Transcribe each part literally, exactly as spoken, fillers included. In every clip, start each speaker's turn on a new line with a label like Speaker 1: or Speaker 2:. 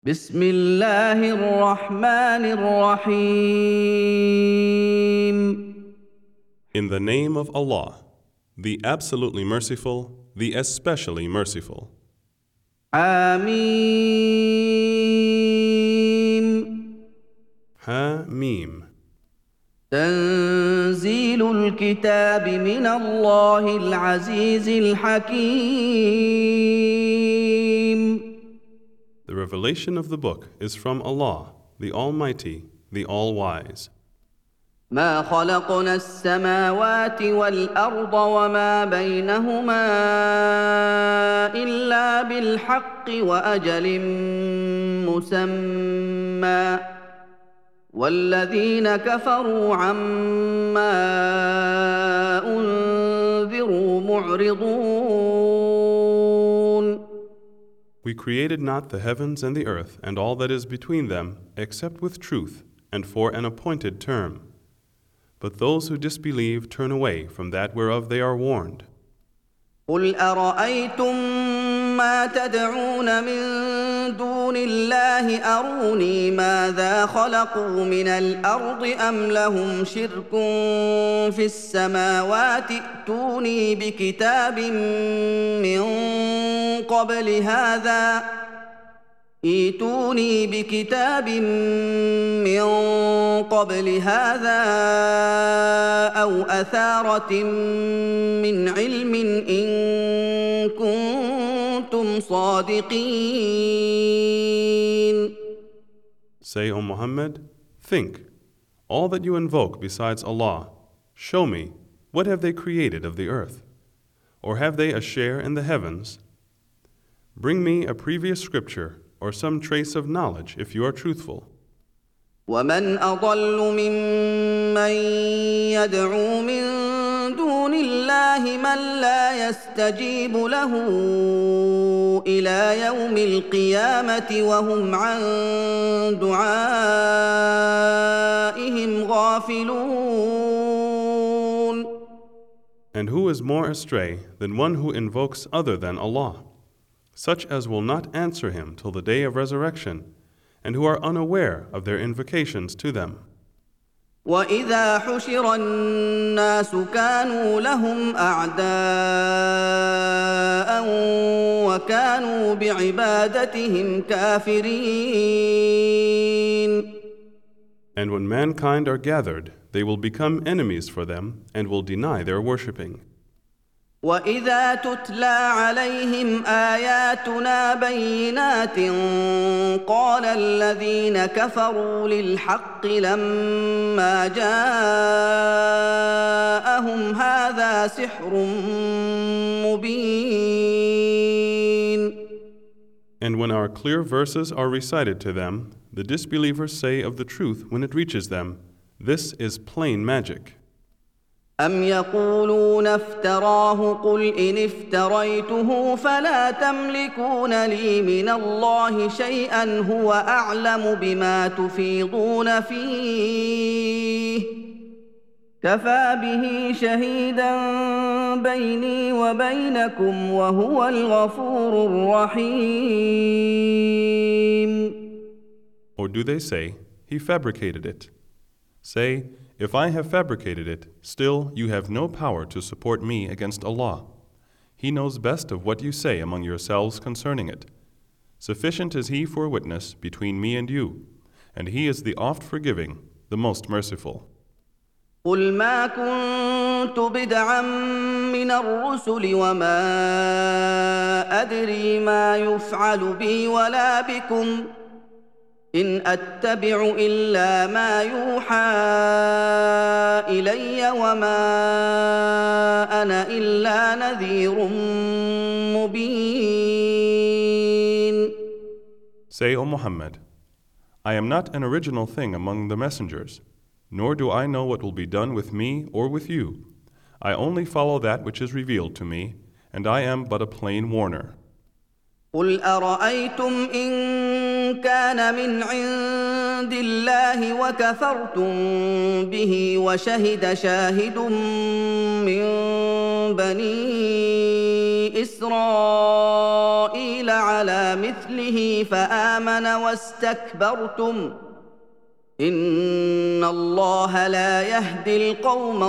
Speaker 1: بسم الله الرحمن الرحيم.
Speaker 2: In the name of Allah, the absolutely merciful, the especially merciful.
Speaker 1: آمين.
Speaker 2: Ha-Mim.
Speaker 1: تنزيل الكتاب من الله العزيز الحكيم.
Speaker 2: The revelation of the book is from Allah, the Almighty, the All-Wise.
Speaker 1: ما خلقنا السماوات والأرض وما بينهما إلا بالحق وأجل مسمى والذين كفروا عما أنذروا معرضون.
Speaker 2: We created not the heavens and the earth and all that is between them except with truth and for an appointed term. But those who disbelieve turn away from that whereof they are warned.
Speaker 1: قل أرأيتم ما تدعون من دون الله أروني ماذا خلقوا من الأرض أم لهم شرك في السماوات ائتوني بكتاب من قبل هذا ائتوني بكتاب من قبل هذا أو أثارة من علم إن كنتم صادقين.
Speaker 2: Say, O Muhammad, think, all that you invoke besides Allah, show me, what have they created of the earth? Or have they a share in the heavens? Bring me a previous scripture or some trace of knowledge if you are truthful.
Speaker 1: ومن أضل ممن يدعو من دون الله من لا يستجيب له إلى يوم القيامة وهم عن دعائهم غافلون.
Speaker 2: And who is more astray than one who invokes other than Allah, such as will not answer him till the day of resurrection, and who are unaware of their invocations to them.
Speaker 1: وَإِذَا حُشِرَ النَّاسُ كَانُوا لَهُمْ أَعْدَاءً وَكَانُوا بِعِبَادَتِهِمْ كَافِرِينَ.
Speaker 2: And when mankind are gathered, they will become enemies for them and will deny their worshipping.
Speaker 1: وَإِذَا تُتْلَى عَلَيْهِمْ آيَاتُنَا بَيِّنَاتٍ قَالَ الَّذِينَ كَفَرُوا لِلْحَقِّ لَمَّا جَاءَهُمْ هَذَا سِحْرٌ مُبِينٌ.
Speaker 2: And when our clear verses are recited to them, the disbelievers say of the truth when it reaches them, this is plain magic.
Speaker 1: أَمْ يَقُولُونَ افْتَرَاهُ قُلْ إِنِ افْتَرَيْتُهُ فَلَا تَمْلِكُونَ لِي مِنَ اللَّهِ شَيْئًا هُوَ أَعْلَمُ بِمَا تُفِيضُونَ فِيهِ كَفَى بِهِ شَهِيدًا بَيْنِي وَبَيْنَكُمْ وَهُوَ الْغَفُورُ الرَّحِيمُ.
Speaker 2: Or do they say, he fabricated it? Say, if I have fabricated it, still you have no power to support me against Allah. He knows best of what you say among yourselves concerning it. Sufficient is He for witness between me and you, and He is the oft-forgiving, the most merciful.
Speaker 1: قُلْ مَا كُنتُ بِدْعًا مِّنَ الرُّسُلِ وَمَا أَدْرِي مَا يُفْعَلُ بِي وَلَا بِكُمْ إِنْ أَتَّبِعُ إِلَّا مَا يُوحَىٰ إِلَيَّ وَمَا أَنَا إِلَّا نَذِيرٌ مُّبِينٌ.
Speaker 2: Say, O Muhammad, I am not an original thing among the messengers, nor do I know what will be done with me or with you. I only follow that which is revealed to me, and I am but a plain warner.
Speaker 1: قُلْ أَرَأَيْتُمْ إِن كَانَ مِنْ عِندِ اللَّهِ وَكَفَرْتُم بِهِ وَشَهِدَ شَاهِدٌ مِّن بَنِي إسرائيل على مثله فآمن واستكبرتم إن الله لا يهدي القوم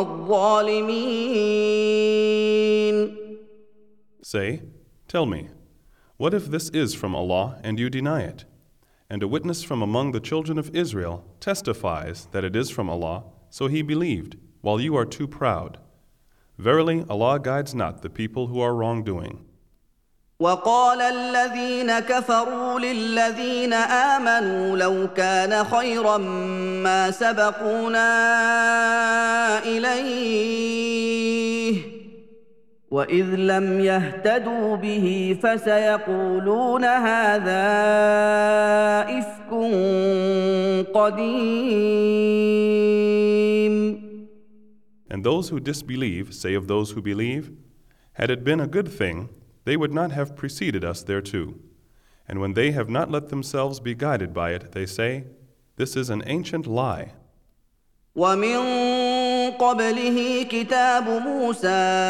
Speaker 1: الظالمين.
Speaker 2: Say, tell me, what if this is from Allah and you deny it? And a witness from among the children of Israel testifies that it is from Allah, so he believed, while you are too proud. Verily, Allah guides not the people who are wrongdoing.
Speaker 1: وقال الذين كفروا للذين آمنوا لو كان خيرا ما سبقونا إليه وإذ لم يهتدوا به فسيقولون هذا إفك قديم.
Speaker 2: And those who disbelieve say of those who believe, had it been a good thing, they would not have preceded us thereto. And when they have not let themselves be guided by it, they say, this is an ancient lie.
Speaker 1: ومن قبله كتاب موسى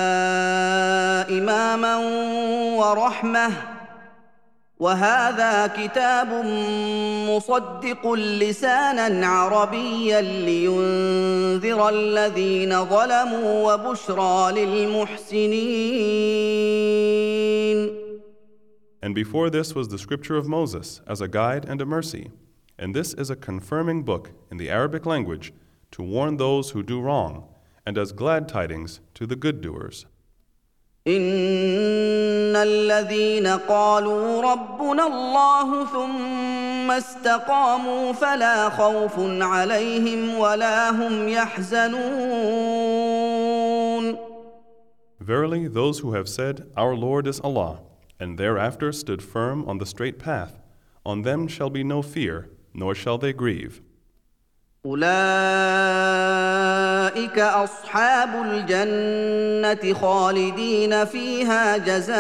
Speaker 1: إماما ورحمة وهذا كتاب مصدق لسانا عربيا لينذر الذين ظلموا وبشرى للمحسنين.
Speaker 2: And before this was the scripture of Moses as a guide and a mercy, and this is a confirming book in the Arabic language to warn those who do wrong, and as glad tidings to the good doers.
Speaker 1: إن الذين قالوا ربنا الله ثم استقاموا فلا خوف عليهم ولا هم يحزنون.
Speaker 2: Verily, those who have said, Our Lord is Allah, and thereafter stood firm on the straight path, on them shall be no fear, nor shall they grieve.
Speaker 1: أولئك أصحاب الجنة خالدين فيها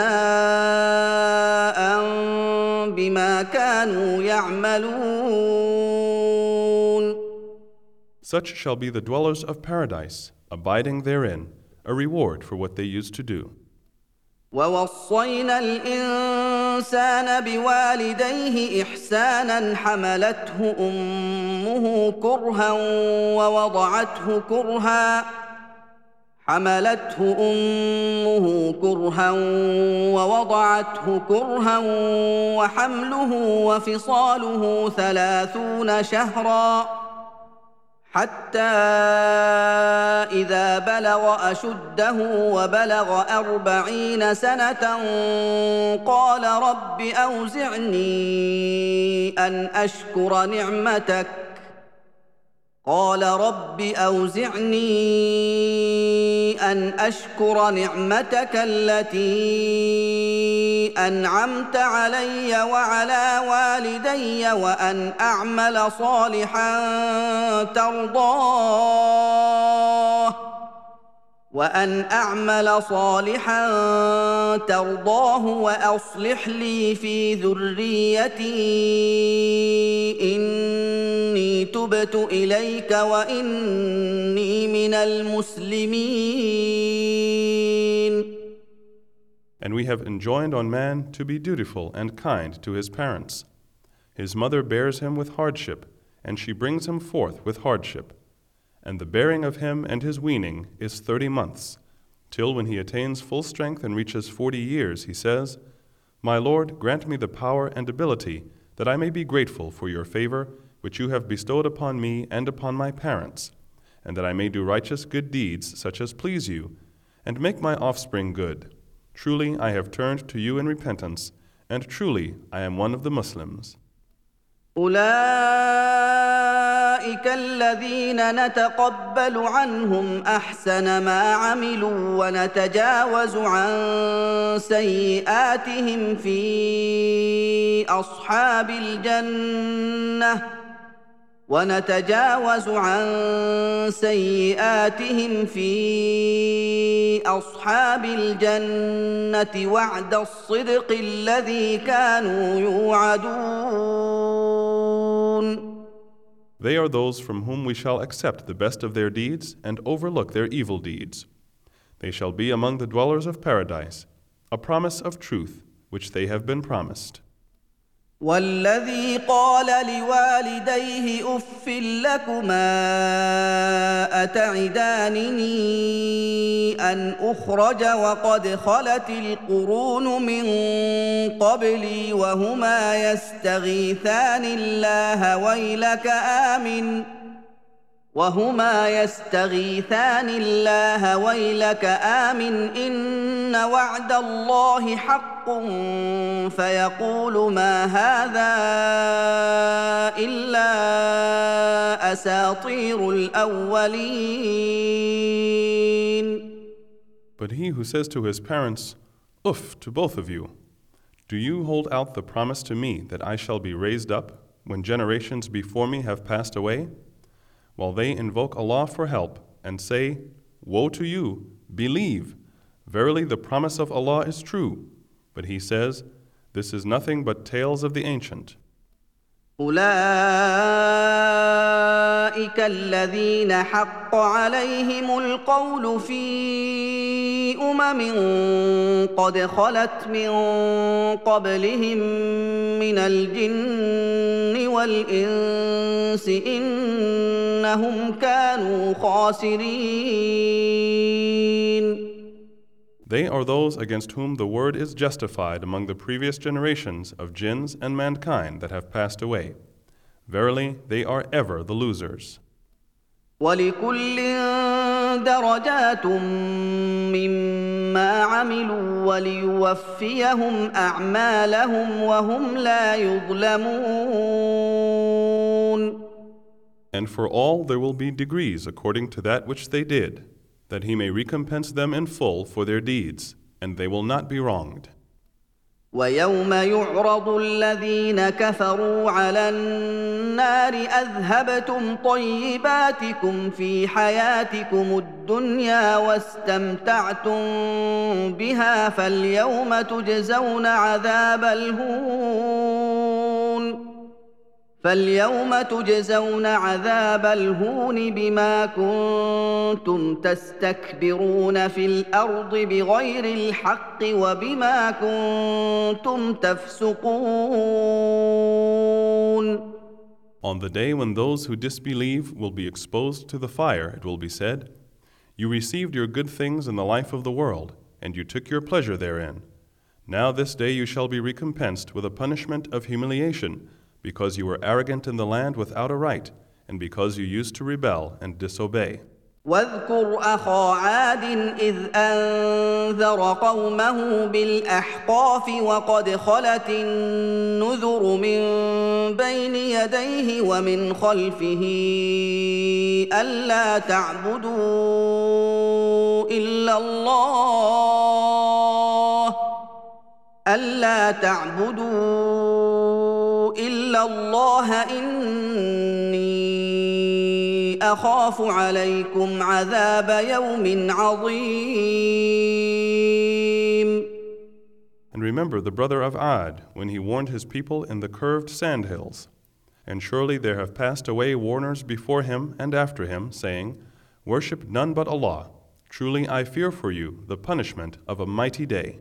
Speaker 1: جزاء بما كانوا يعملون.
Speaker 2: Such shall be the dwellers of paradise, abiding therein, a reward for what they used to do.
Speaker 1: ووصينا الإنسان بوالديه إحسانا حملته أمه كرها ووضعته كرها حملته أمه كرها ووضعته كرها وحمله وفصاله ثلاثون شهرا حتى إذا بلغ أشده وبلغ أربعين سنة قال رب أوزعني أن أشكر نعمتك قال رب أوزعني أن أشكر نعمتك التي أنعمت علي وعلى والدي وأن أعمل صالحا ترضاه وأن أعمل صالحا ترضاه وأصلح لي في ذريتي إني تبت إليك وإني من المسلمين.
Speaker 2: And we have enjoined on man to be dutiful and kind to his parents. His mother bears him with hardship, and she brings him forth with hardship. And the bearing of him and his weaning is thirty months, till when he attains full strength and reaches forty years, he says, My Lord, grant me the power and ability that I may be grateful for your favor, which you have bestowed upon me and upon my parents, and that I may do righteous good deeds such as please you, and make my offspring good. Truly I have turned to you in repentance, and truly I am one of the Muslims.
Speaker 1: أولئك الذين نتقبل عنهم أحسن ما عملوا ونتجاوز عن سيئاتهم في أصحاب الجنة ونتجاوز عن سيئاتهم في أصحاب الجنة وعد الصدق الذي كانوا يوعدون.
Speaker 2: They are those from whom we shall accept the best of their deeds and overlook their evil deeds. They shall be among the dwellers of paradise, a promise of truth which they have been promised.
Speaker 1: والذي قال لوالديه أف لكما أتعدانني أن أخرج وقد خلت القرون من قبلي وهما يستغيثان الله ويلك آمن وهما يستغيثان الله ويلك آمن إن وعد الله حق فيقول ما هذا إلا أساطير الأولين.
Speaker 2: But he who says to his parents, Uff to both of you, do you hold out the promise to me that I shall be raised up when generations before me have passed away? While they invoke Allah for help and say, Woe to you, believe, verily the promise of Allah is true. But he says, This is nothing but tales of the ancient.
Speaker 1: أولئك الذين حق عليهم القول في أمم قد خلت من قبلهم من الجن والإنس إنهم كانوا خاسرين.
Speaker 2: They are those against whom the word is justified among the previous generations of jinns and mankind that have passed away. Verily, they are ever the losers.
Speaker 1: وَلِكُلٍّ دَرَجَاتٌ مِّمَّا عَمِلُوا وَلِيُوَفِّيَهُمْ أَعْمَالَهُمْ وَهُمْ لَا يُظْلَمُونَ.
Speaker 2: And for all there will be degrees according to that which they did, that he may recompense them in full for their deeds, and they will not be wronged.
Speaker 1: وَيَوْمَ يُعْرَضُ الَّذِينَ كَفَرُوا عَلَى النَّارِ أَذْهَبْتُمْ طَيِّبَاتِكُمْ فِي حَيَاتِكُمُ الدُّنْيَا وَاسْتَمْتَعْتُمْ بِهَا فَالْيَوْمَ تُجْزَوْنَ عَذَابَ الْهُونِ فَالْيَوْمَ تُجْزَوْنَ عَذَابَ الْهُونِ بِمَا كُنتُمْ تَسْتَكْبِرُونَ فِي الْأَرْضِ بِغَيْرِ الْحَقِّ وَبِمَا كُنتُمْ تَفْسُقُونَ.
Speaker 2: On the day when those who disbelieve will be exposed to the fire, it will be said, You received your good things in the life of the world, and you took your pleasure therein. Now this day you shall be recompensed with a punishment of humiliation, because you were arrogant in the land without a right, and because you used to rebel and disobey.
Speaker 1: واذكر أخا عاد إذ أنذر قومه بالأحقاف وقد خلت النذر من بين يديه ومن خلفه ألا تعبدوا إلا الله ألا تعبدوا إلا الله إني أخاف عليكم عذاب يوم عظيم.
Speaker 2: And remember the brother of Ad when he warned his people in the curved sandhills. And surely there have passed away warners before him and after him, saying, Worship none but Allah. Truly I fear for you the punishment of a mighty day.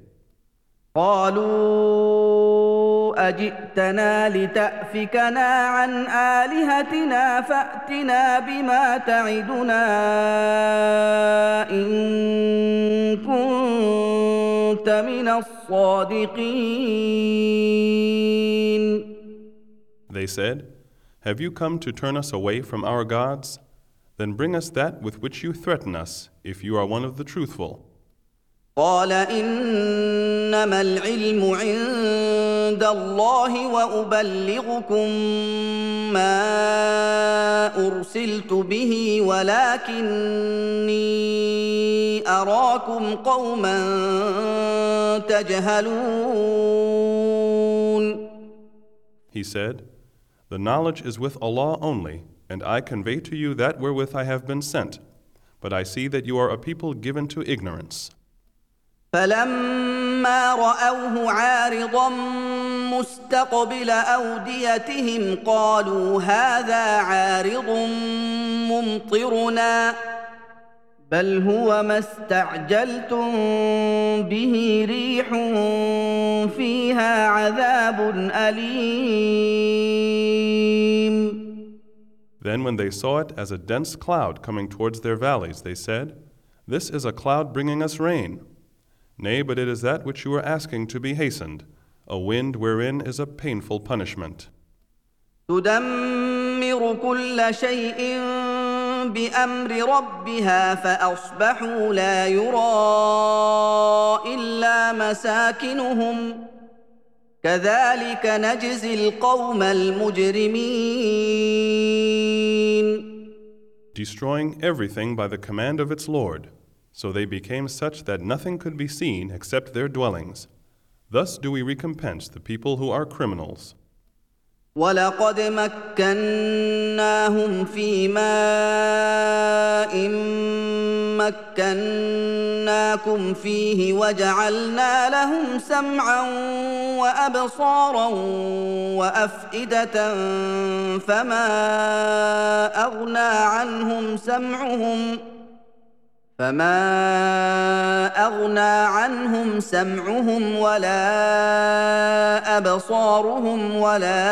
Speaker 1: قالوا أجئتنا لتأفكنا عن آلهتنا فأتنا بما تعدنا إن كنت من الصادقين.
Speaker 2: They said, Have you come to turn us away from our gods? Then bring us that with which you threaten us, if you are one of the truthful.
Speaker 1: قال إنما العلم عند الله وأبلغكم ما أرسلت به ولكني أراكم قوما تجهلون.
Speaker 2: He said, The knowledge is with Allah only, and I convey to you that wherewith I have been sent, but I see that you are a people given to ignorance.
Speaker 1: فلما رأوه عارضا مستقبل أوديتهم قالوا هذا عارض ممطرنا بل هو ما استعجلتم به ريح فيها عذاب أليم.
Speaker 2: Then when they saw it as a dense cloud coming towards their valleys, they said, "This is a cloud bringing us rain." Nay, but it is that which you are asking to be hastened, a wind wherein is a painful punishment.
Speaker 1: تدمر كل شيء بأمر ربها فأصبحوا لا يرى إلا مساكنهم كذلك نجزي القوم المجرمين.
Speaker 2: Destroying everything by the command of its Lord, so they became such that nothing could be seen except their dwellings. Thus do we recompense the people who are criminals.
Speaker 1: وَلَقَدْ مَكَّنَّاهُمْ فِي مَاءٍ مَّكَّنَّاكُمْ فِيهِ وَجَعَلْنَا لَهُمْ سَمْعًا وَأَبْصَارًا وَأَفْئِدَةً فَمَا أَغْنَىٰ عَنْهُمْ سَمْعُهُمْ فما أغنى عنهم سمعهم ولا أبصارهم ولا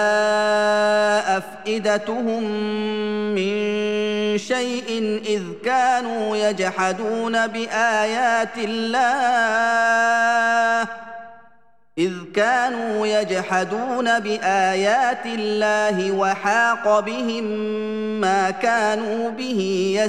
Speaker 1: أفئدتهم من شيء إذ كانوا يجحدون بآيات الله إذ كانوا يجحدون بآيات الله وحاق بهم ما كانوا به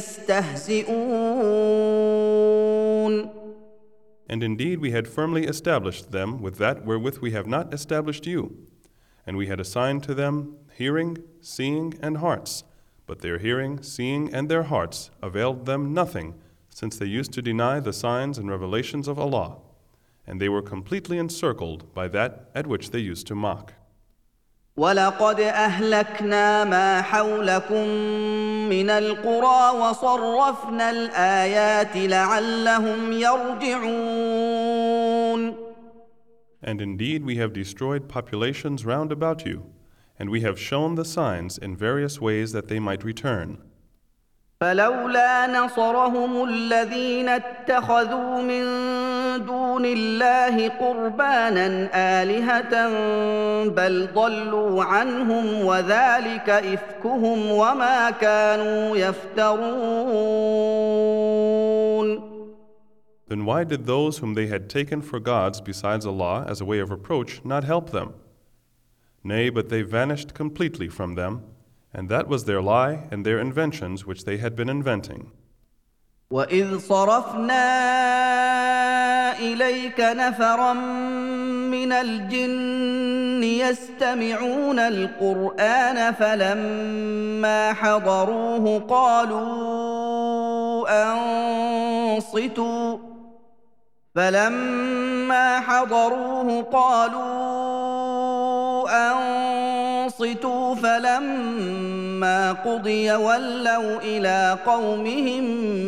Speaker 1: يستهزئون.
Speaker 2: And indeed we had firmly established them with that wherewith we have not established you, and we had assigned to them hearing, seeing, and hearts, but their hearing, seeing, and their hearts availed them nothing, since they used to deny the signs and revelations of Allah, and they were completely encircled by that at which they used to mock.
Speaker 1: وَلَقَدْ أَهْلَكْنَا مَا حَوْلَكُمْ مِنَ الْقُرَى وَصَرَّفْنَا الْآيَاتِ لَعَلَّهُمْ يَرْجِعُونَ.
Speaker 2: And indeed we have destroyed populations round about you, and we have shown the signs in various ways that they might return.
Speaker 1: فلولا نصرهم الذين اتخذوا من دون الله قربانا آلهة بل ضلوا عنهم وذلك إفكهم وما كانوا يفترون.
Speaker 2: Then why did those whom they had taken for gods besides Allah as a way of reproach not help them? Nay, but they vanished completely from them, and that was their lie and their inventions which they had been inventing.
Speaker 1: وَإِذْ صَرَفْنَا إِلَيْكَ نَفَرًا مِّنَ الْجِنِّ يَسْتَمِعُونَ الْقُرْآنَ فَلَمَّا حَضَرُوهُ قَالُوا أَنصِتُوا فَلَمَّا حَضَرُوهُ قَالُوا أنصتوا فلما قضي ولوا إلى قومهم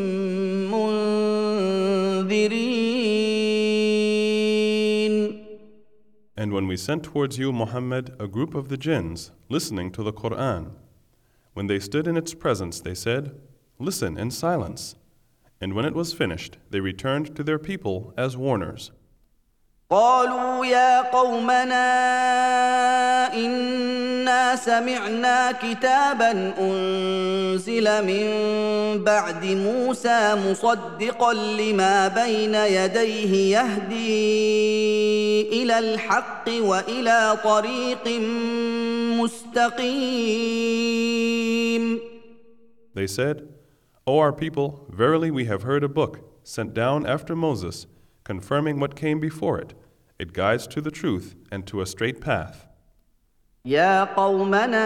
Speaker 1: منذرين.
Speaker 2: And when we sent towards you, Muhammad, a group of the jinns listening to the Qur'an, when they stood in its presence, they said, "Listen in silence." And when it was finished, they returned to their people as warners.
Speaker 1: قالوا يا قومنا إنا سمعنا كتابا أنزل من بعد موسى مصدقا لما بين يديه يهدي إلى الحق وإلى طريق مستقيم.
Speaker 2: They said, O our people, verily we have heard a book sent down after Moses, confirming what came before it. It guides to the truth and to a straight path.
Speaker 1: يا قومنا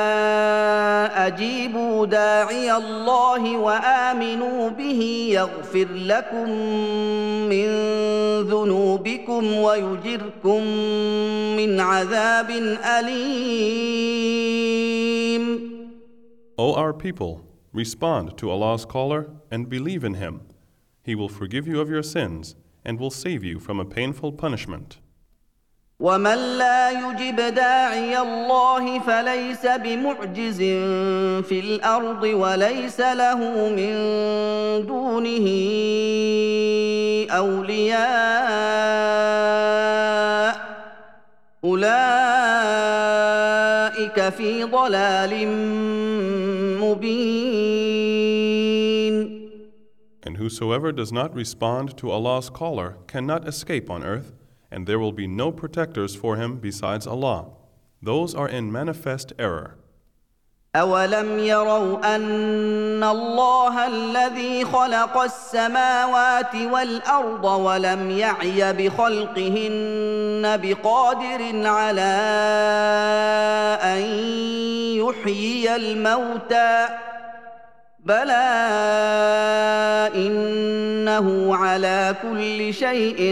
Speaker 1: أجيبوا داعي الله وآمنوا به يغفر لكم من ذنوبكم ويجركم من عذاب أليم.
Speaker 2: O our people, respond to Allah's caller and believe in Him. He will forgive you of your sins and will save you from a painful punishment.
Speaker 1: ومن لا يجب داعي الله فليس بمعجز في الارض وليس له من دونه اولياء اولئك في ضلال مبين.
Speaker 2: And whosoever does not respond to Allah's caller cannot escape on earth, and there will be no protectors for him besides Allah. Those are in manifest error.
Speaker 1: أولم يروا أن الله الذي خلق السماوات والأرض ولم يعي بخلقهن بقادر على أن يحيي الموتى بلى إنه على كل شيء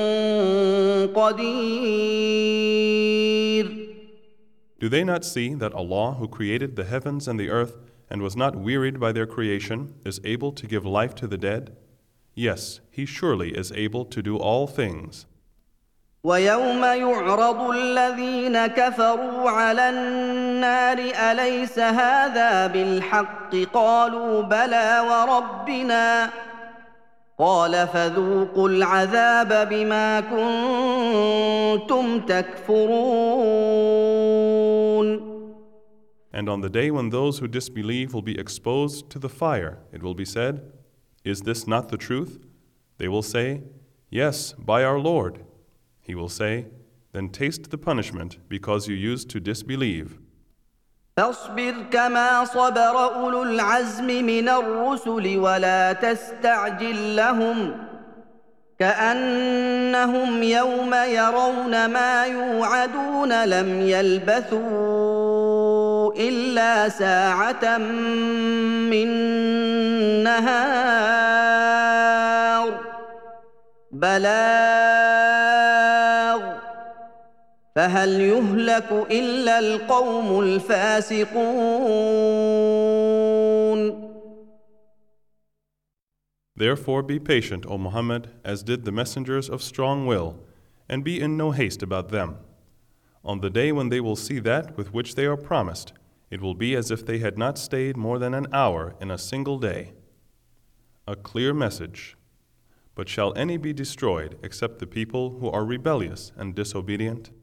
Speaker 1: قدير.
Speaker 2: Do they not see that Allah, who created the heavens and the earth and was not wearied by their creation, is able to give life to the dead? Yes, He surely is able to do all things.
Speaker 1: ويوم يعرض الذين كفروا على النار أليس هذا بالحق قالوا بلى وربنا قال فذوقوا العذاب بما كنتم تكفرون.
Speaker 2: And on the day when those who disbelieve will be exposed to the fire, it will be said, "Is this not the truth?" They will say, "Yes, by our Lord." He will say, "Then taste the punishment because you used to disbelieve."
Speaker 1: فاصبر كما صبر أولو العزم من الرسل ولا تستعجل لهم كأنهم يوم يرون ما يوعدون لم يلبثوا إلا ساعة من نهار بلاغ فهل يهلك إلا القوم الفاسقون.
Speaker 2: Therefore be patient, O Muhammad, as did the messengers of strong will, and be in no haste about them. On the day when they will see that with which they are promised, it will be as if they had not stayed more than an hour in a single day. A clear message. But shall any be destroyed except the people who are rebellious and disobedient?